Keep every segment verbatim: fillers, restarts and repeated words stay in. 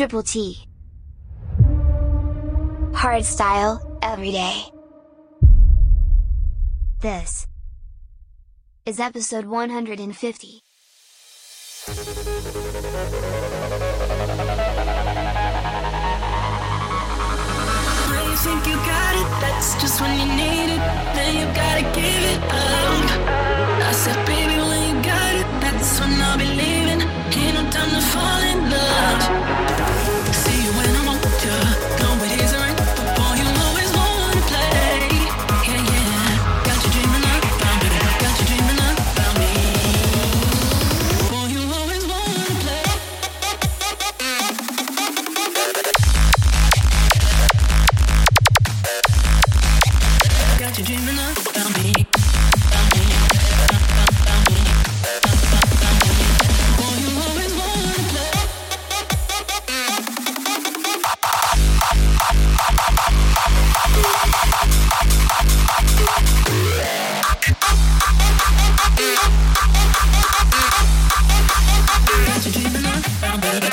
Triple T. Hardstyle, every day. This is episode one hundred fifty. When you think you got it, that's just when you need it, then you gotta give it up. I said, baby, when you got it, that's when I'll be leaving. Ain't no time to fall in love. See you when I want you, know it isn't right, but boy, you always wanna play. Yeah, yeah, got you dreaming about me, got you dreaming about me. Boy, you always wanna play. Got you dreaming about me, about me, about me, about me. Boy, you always wanna play. Got you dreaming about me.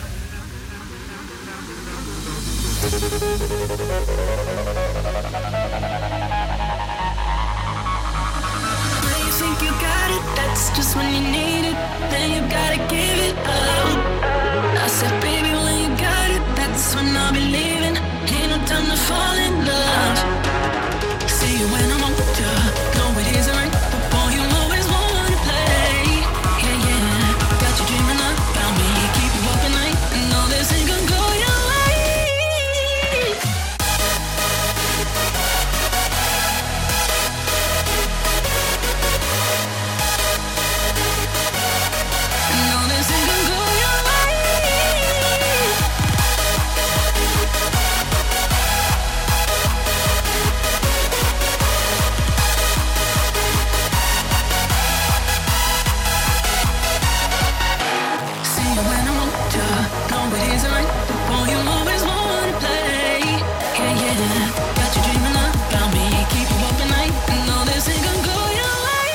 When you think you got it, that's just when you need it, then you gotta give it up. I said, baby, when you got it, that's when I'll be leaving. Ain't no time to fall in love. See you when I want you, know it isn't right, but boy, you always wanna play. Yeah, yeah, got you dreaming about me, keep you up at night, and know this ain't gonna go your way. No, this ain't gonna go your way. See you when I want you, know it isn't right, but boy, you always wanna play. Yeah, yeah, got you dreaming about me, keep you up at night, and know this ain't gonna go your way.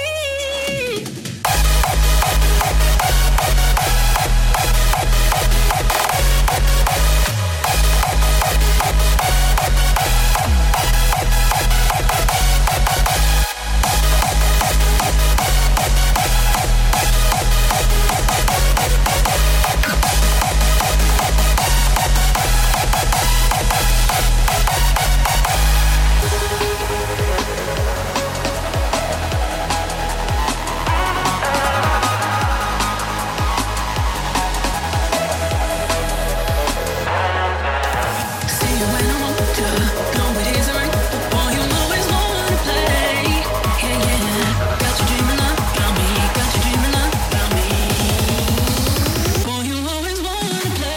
See you when I want you, know it isn't right, but boy, you always wanna play. Yeah, yeah, got you dreaming about me, got you dreaming about me. Boy, you always wanna play.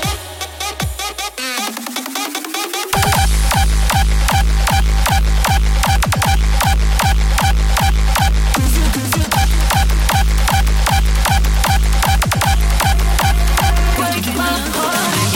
Got you dreaming about me.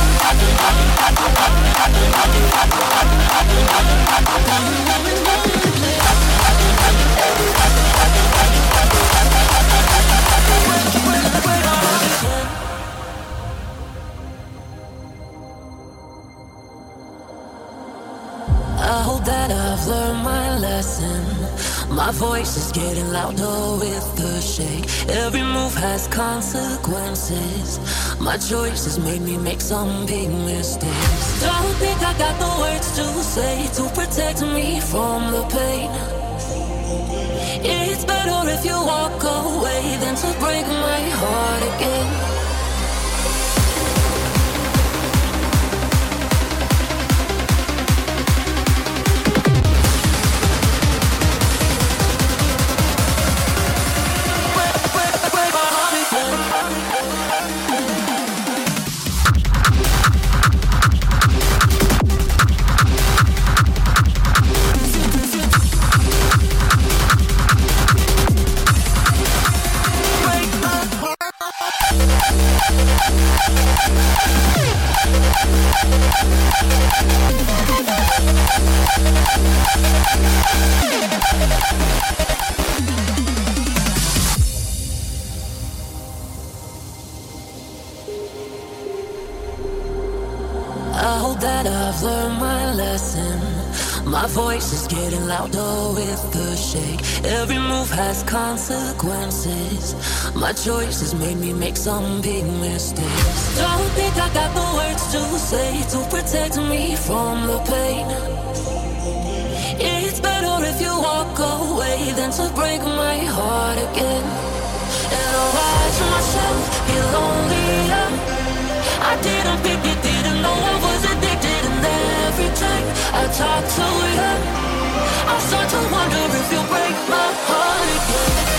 I hope that I've learned my lesson. My voice is getting louder with the shake. Every move has consequences. My choices made me make some big mistakes. Don't think I got the words to say to protect me from the pain. It's better if you walk away than to break my heart again. that I've learned my lesson. My voice is getting louder with the shake. Every move has consequences. My choices made me make some big mistakes. Don't think I got the words to say to protect me from the pain. It's better if you walk away than to break my heart again. And I watch myself get lonelier. I didn't pick it, didn't know I was addicted. And every time I talk to you, I start to wonder if you'll break my heart again.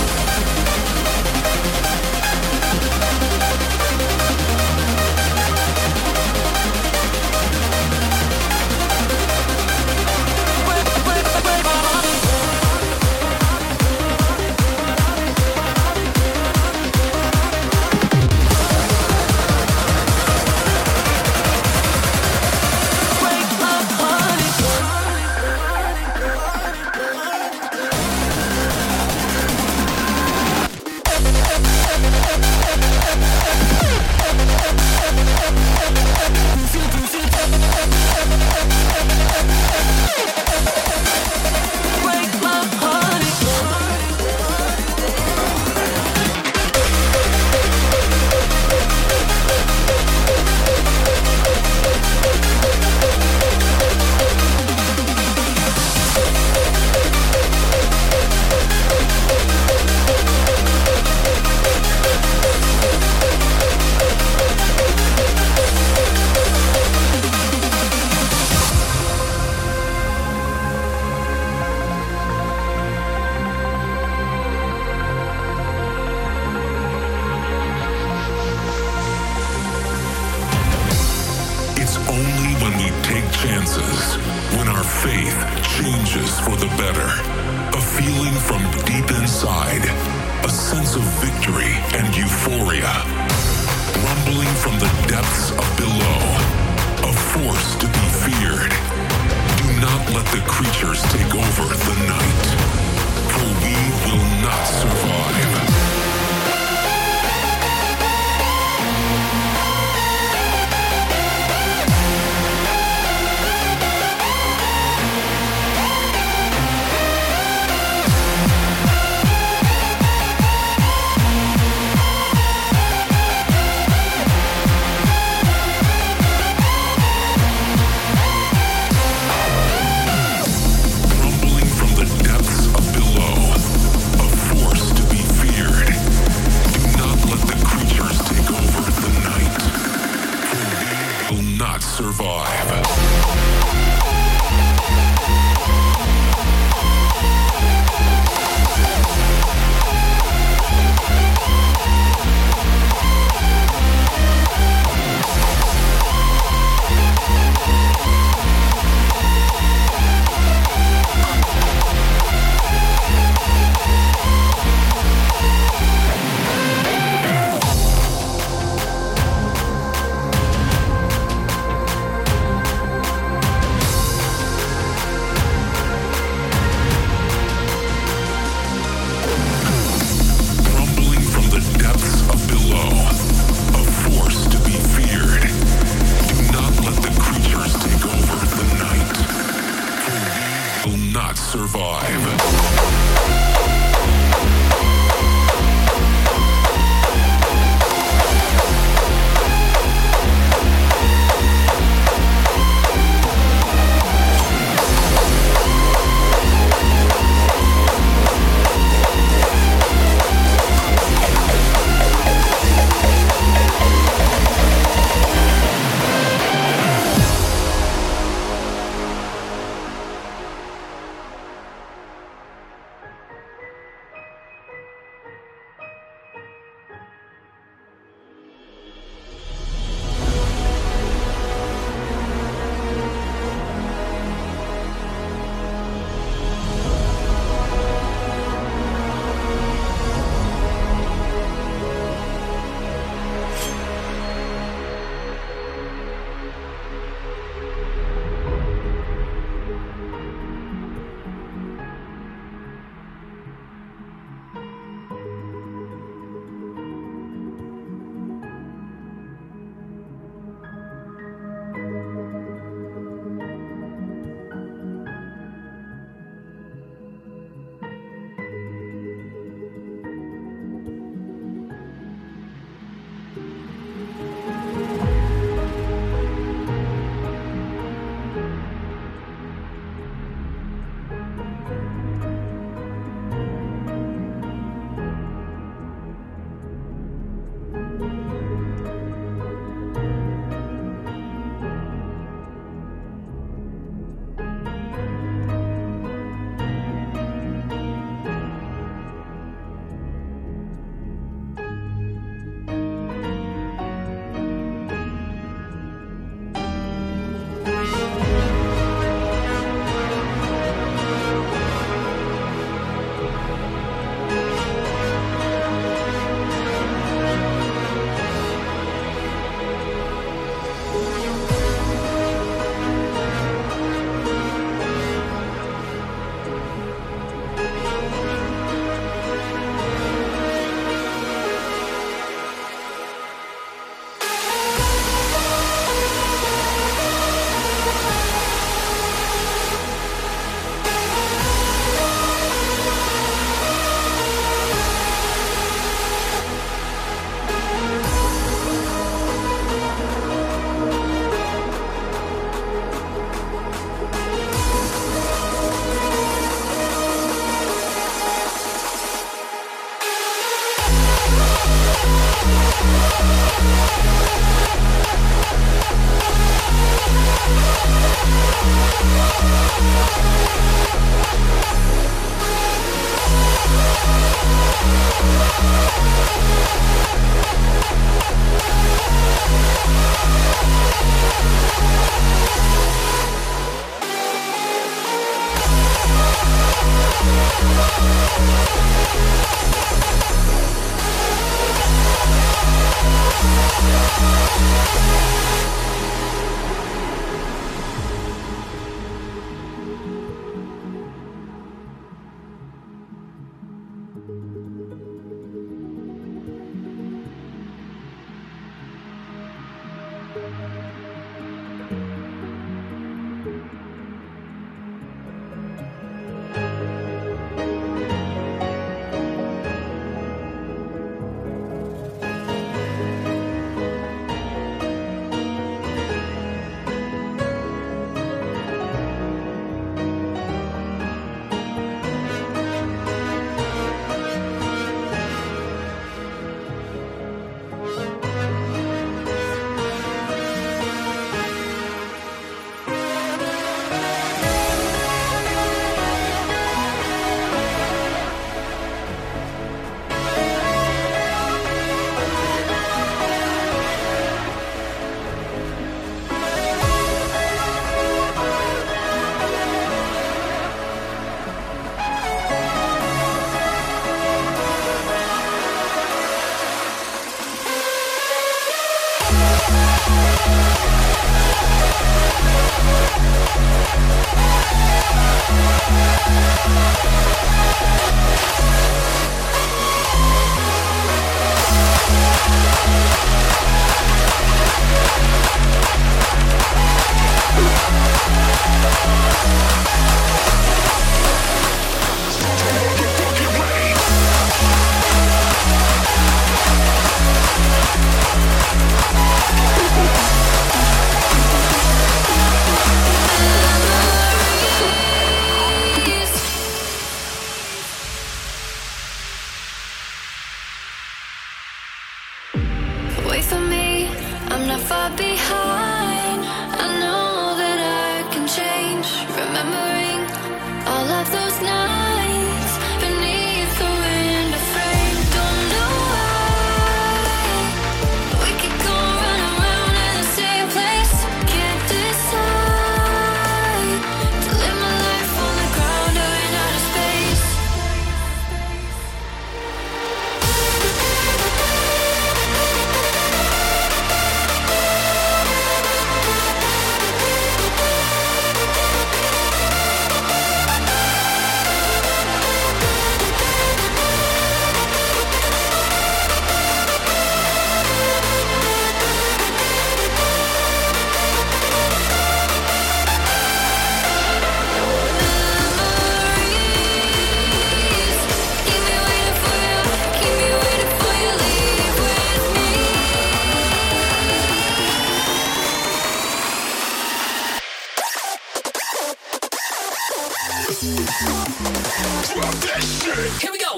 Here we go.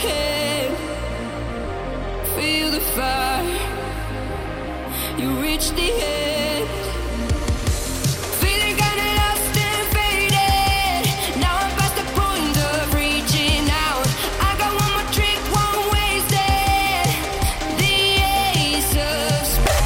head, feel the fire. You reach the end, feeling kinda lost and faded. Now I'm past the point of reaching out. I got one more trick, won't waste it. The ace of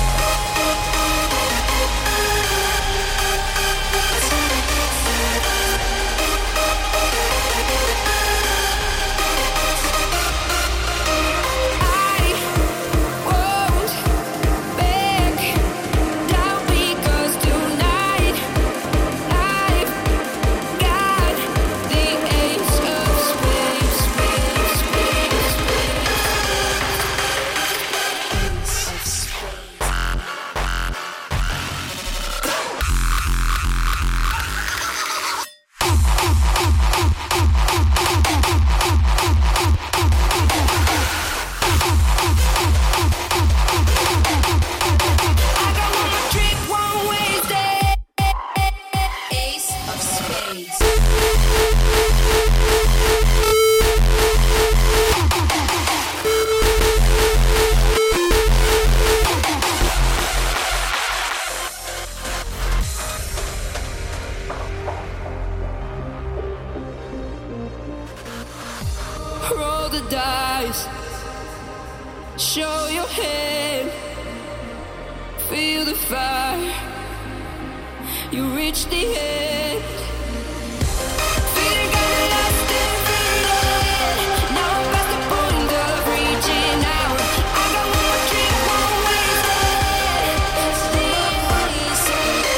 roll the dice, show your hand, feel the fire. You reach the end, feeling kinda lost and faded. Now I'm past the point of reaching out. I got one more trick, won't waste it. It's the ace of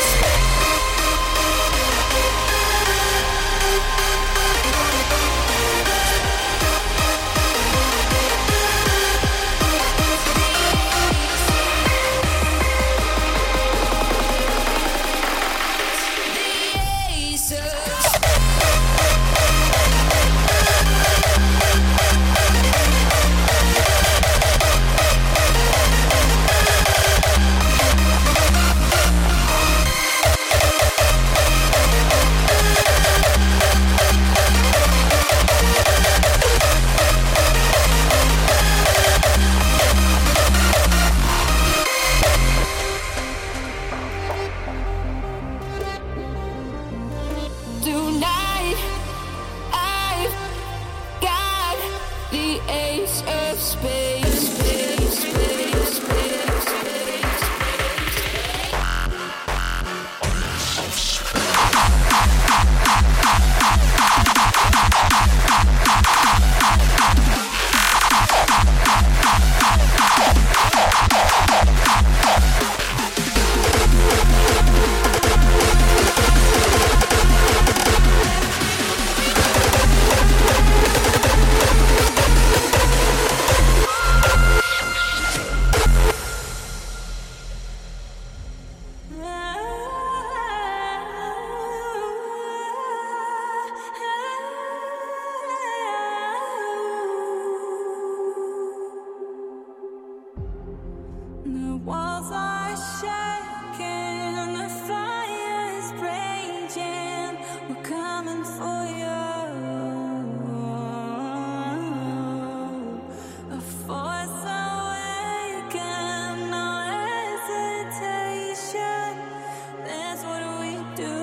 tonight. I've got the ace of spades. Space, space, space, space, the walls are shaking, the fire's raging. We're coming for you. A force awakened, no hesitation. That's what we do.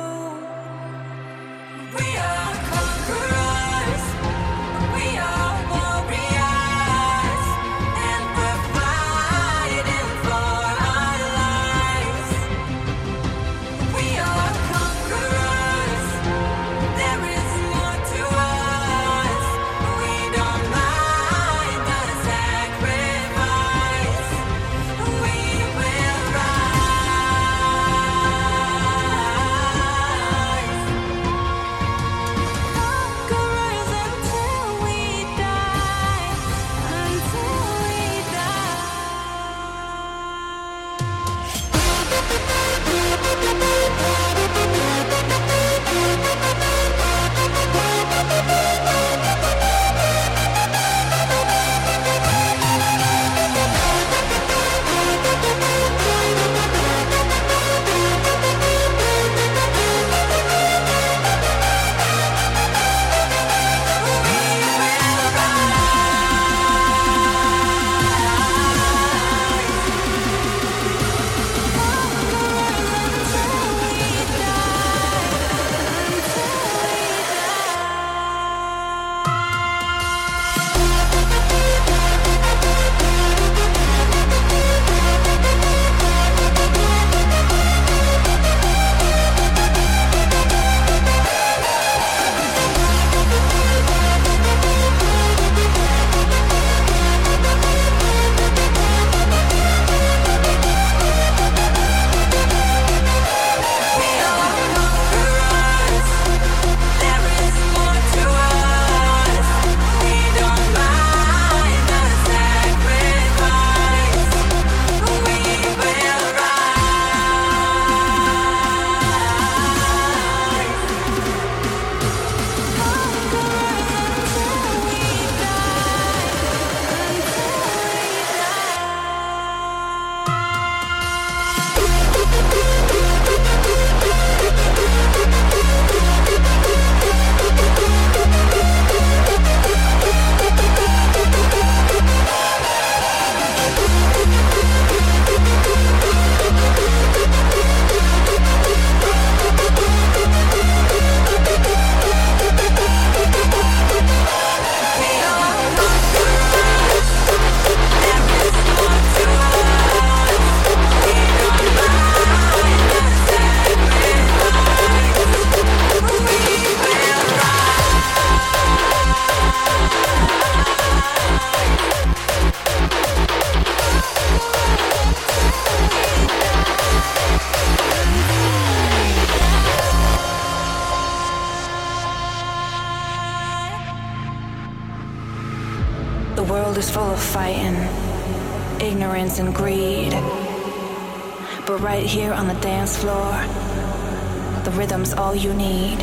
We are conquerors. We are warriors, and we're fighting for our lives. The world is full of fighting, ignorance and greed. But right here on the dance floor, the rhythm's all you need.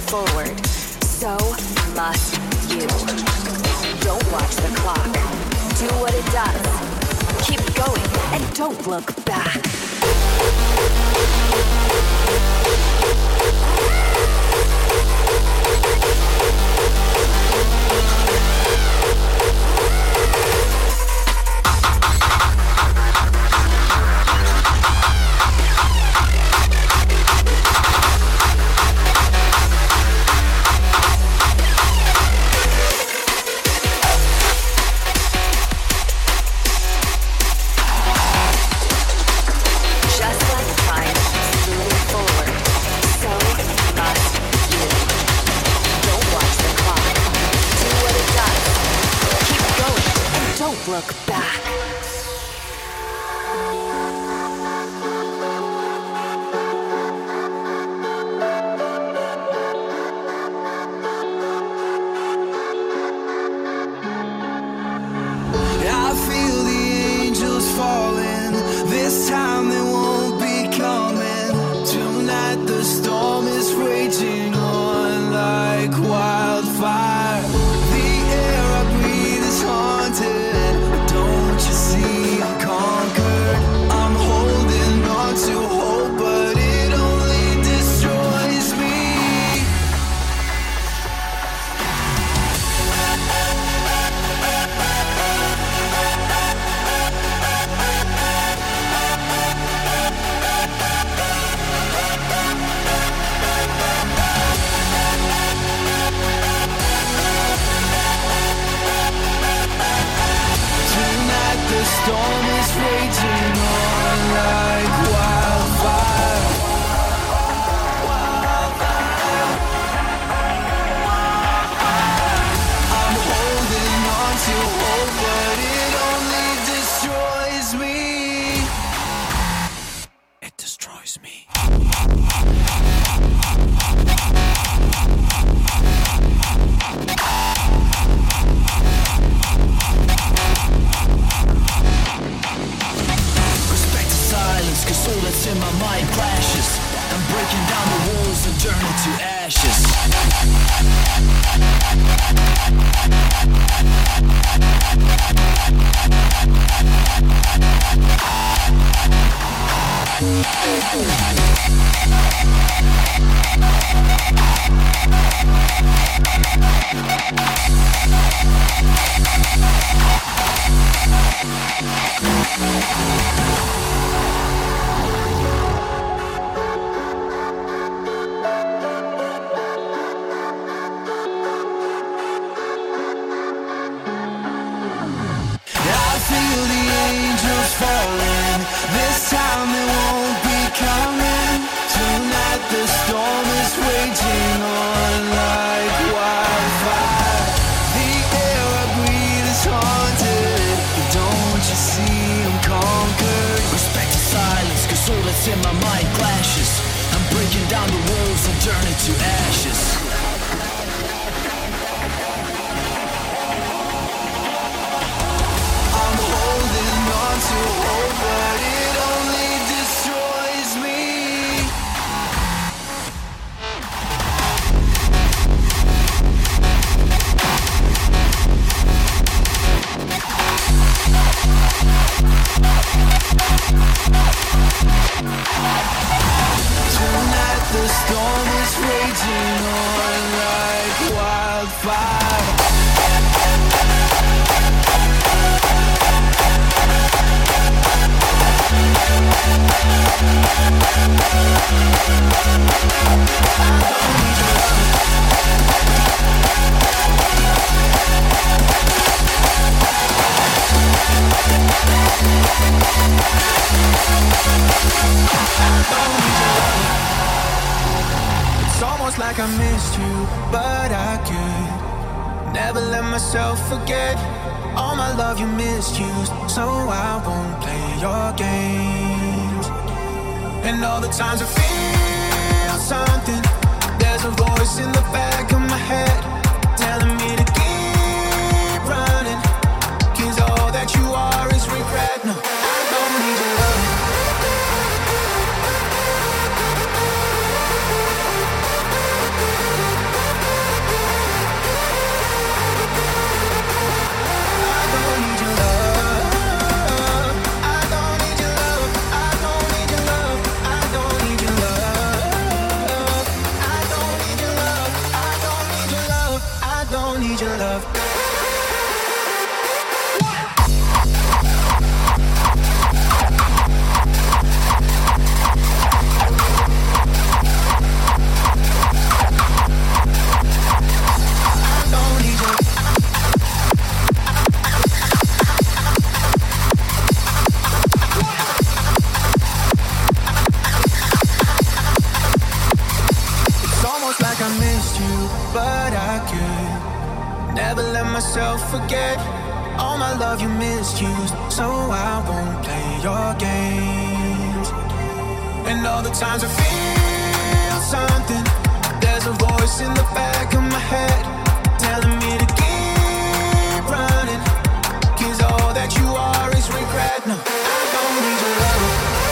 forward. So must you. Don't watch the clock. Do what it does. Keep going and don't look back. Look back. I feel the angels falling. This time they won't be coming. Tonight the storm is raging on like wildfire. The air I breathe is haunted. Don't you see I'm conquered? I'm holding on to hope, but it only destroys me. Tonight the storm is raging on like wildfire. I'm holding on to hope, but it only destroys me. It destroys me. Respect the silence, cause all that's in my mind clashes. I'm breaking down the walls and turning to ashes. I feel the angels falling. This time they won't be coming. Tonight the storm is raging on like wildfire. The air I breathe is haunted. Don't you see I'm conquered? Respect the silence, cause all that's in my mind clashes. I'm breaking down the walls and turning to ashes. I'm holding on to hope, but it only destroys me. Tonight the storm is raging on like wildfire. It's almost like I missed you, but I could never let myself forget all my love you misused, so I won't play your games. And all the times I feel something, there's a voice in the back of my head telling me to keep running, cause all that you are is regret. No, I don't need your love. myself forget all my love you misused, so I won't play your games. And all the times I feel something, there's a voice in the back of my head telling me to keep running, 'cause all that you are is regret. No, I don't need your love.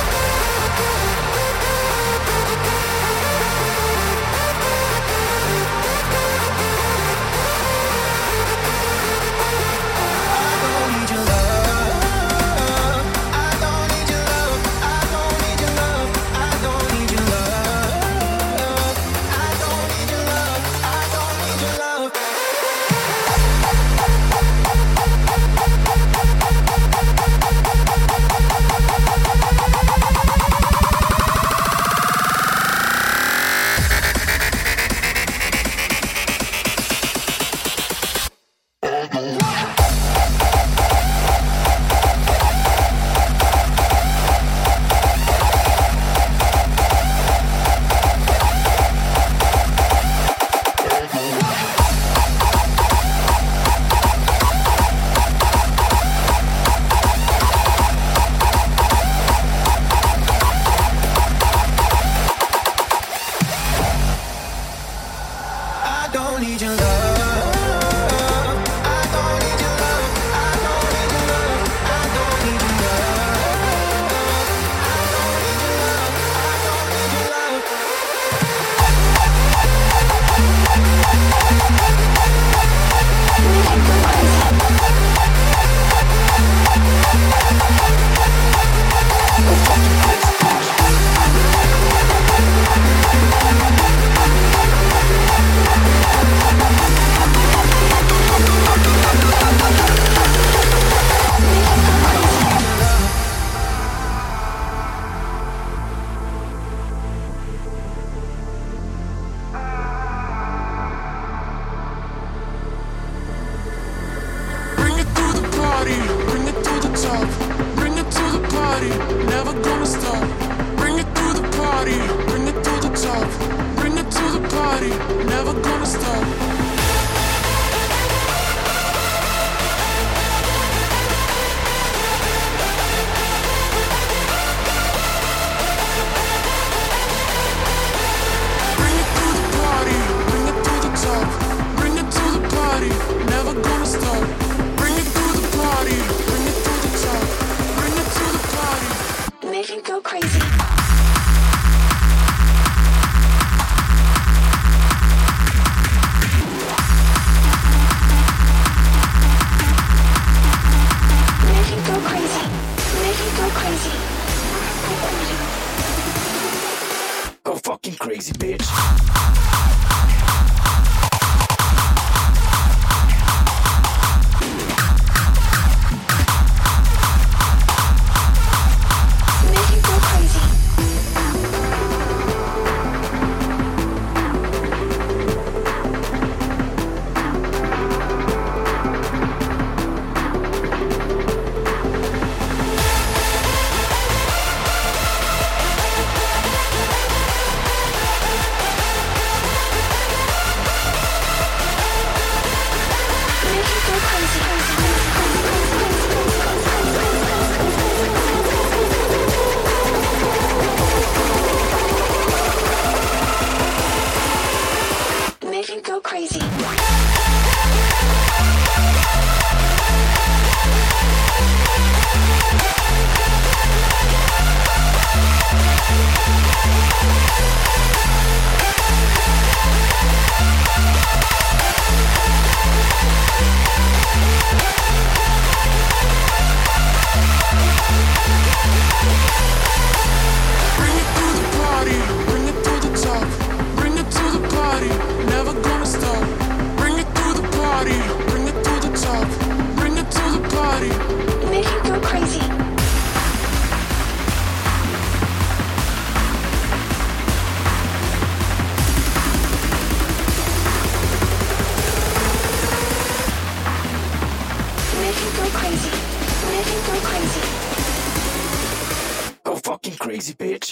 crazy bitch.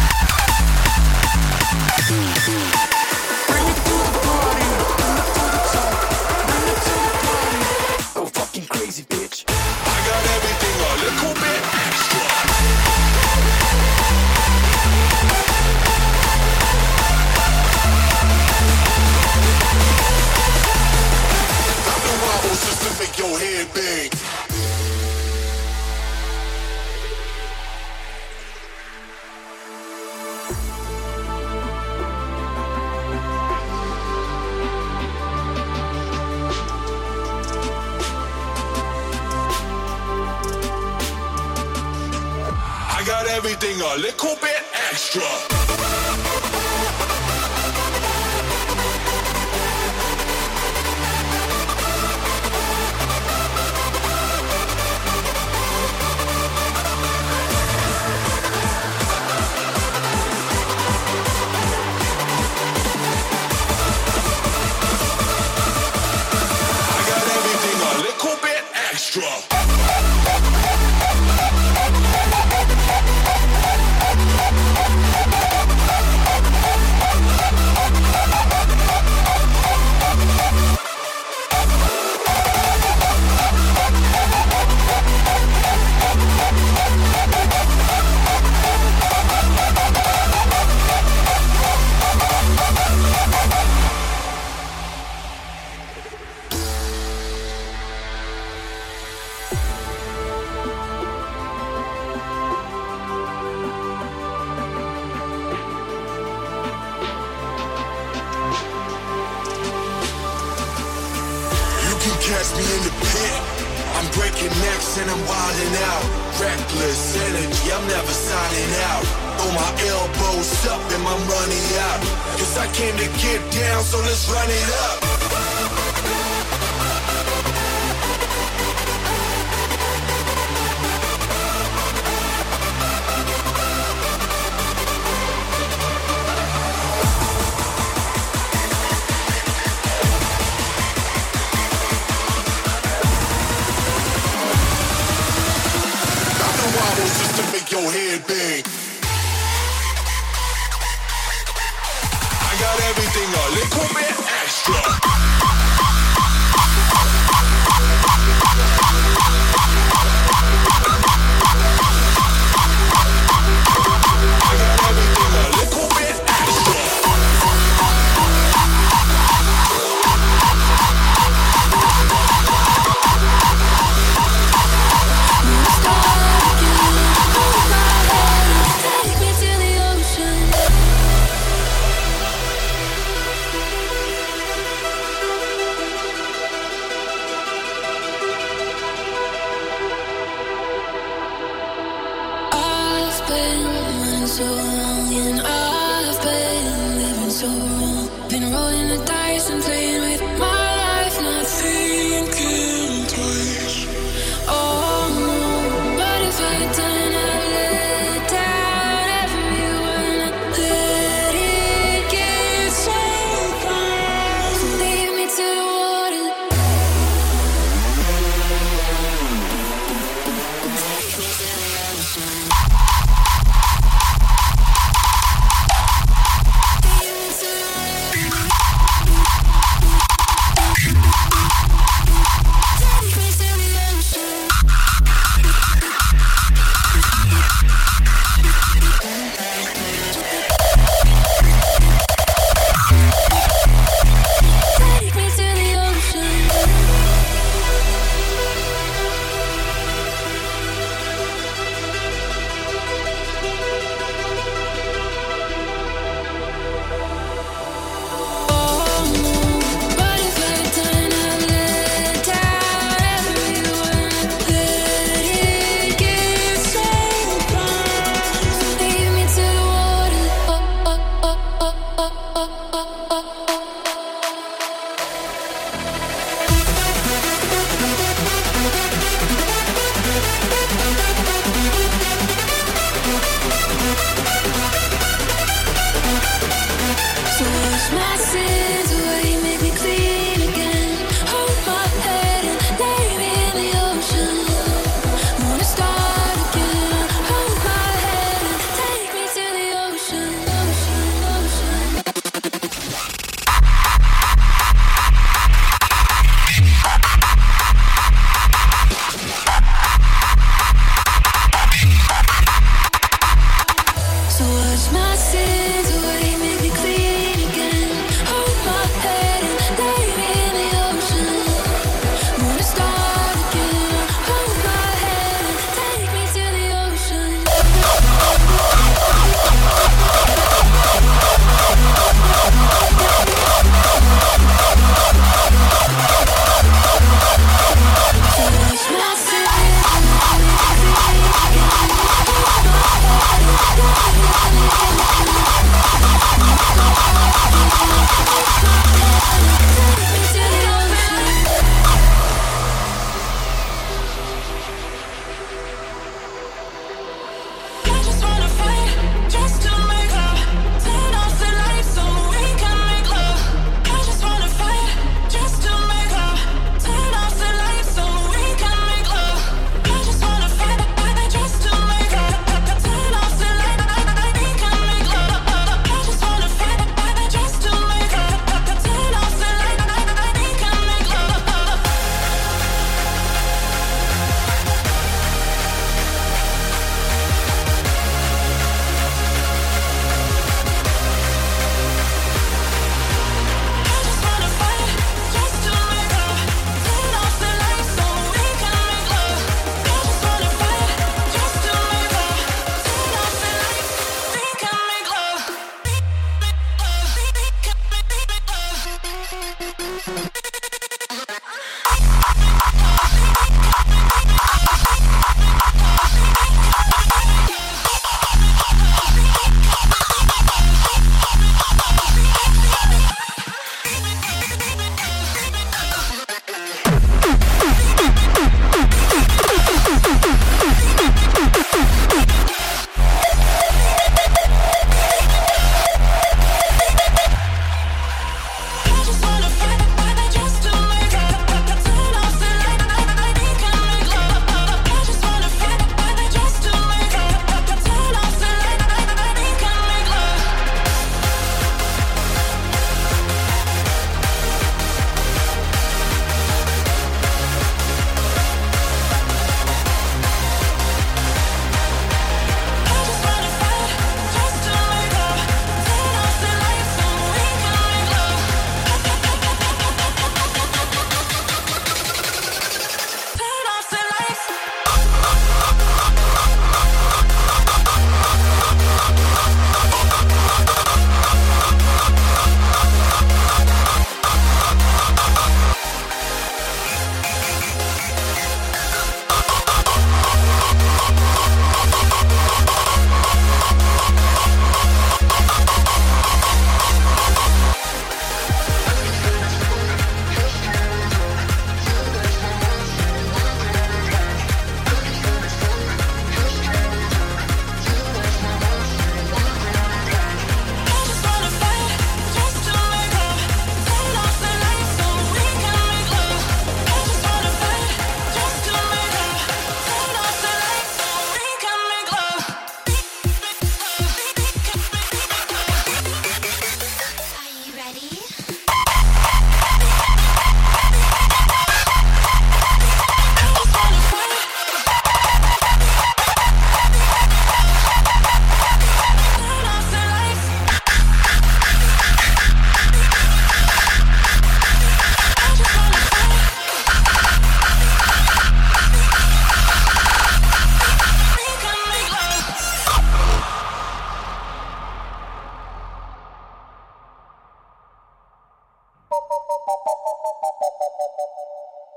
Bring it to the party, bring it to the make your head big. I got everything a little bit extra. Catch me in the pit. I'm breaking necks and I'm wilding out. Reckless energy, I'm never signing out. Throw my elbows up and my money out. Cause I came to get down, so let's run it up. Just to make your head big. I got everything a little bit extra. I got everything a little bit extra. Take me to the ocean. I've been running so long, and I've been living so wrong. Been rolling the dice and playing with my life, not thinking twice. Oh no, what if I had done? I've let down everyone. I let it get so far. Leave me to the water. Leave me to the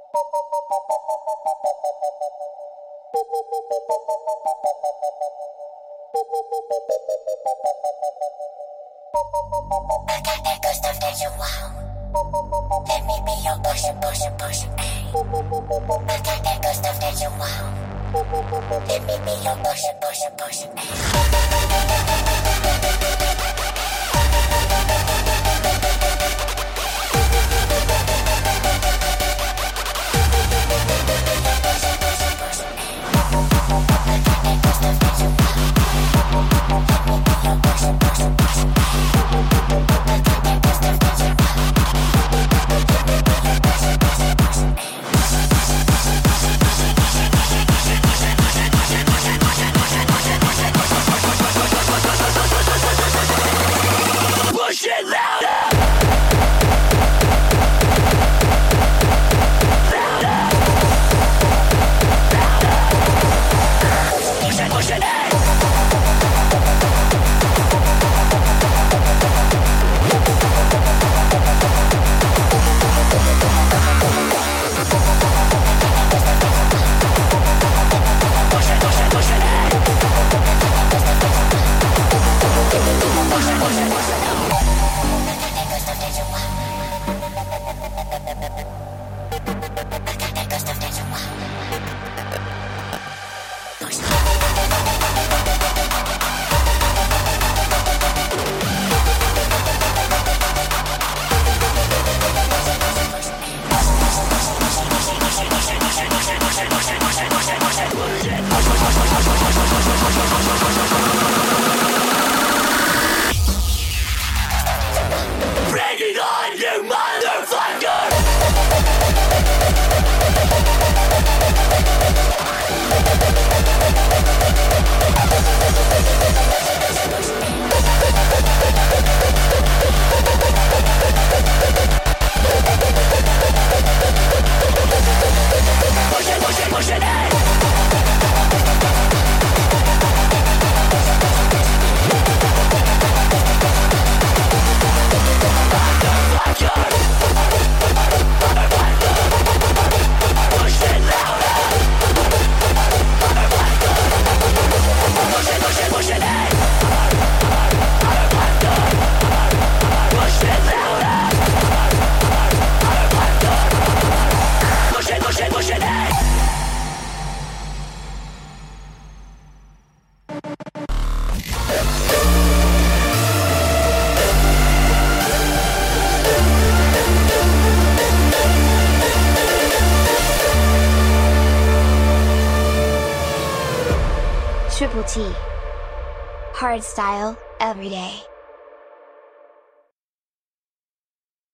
I got that good stuff that you want. Let me be your pusher, pusher, pusher, ayy. I got that good stuff that you want. Let me be your pusher, pusher, pusher, ayy. Triple T. Hard style, every day.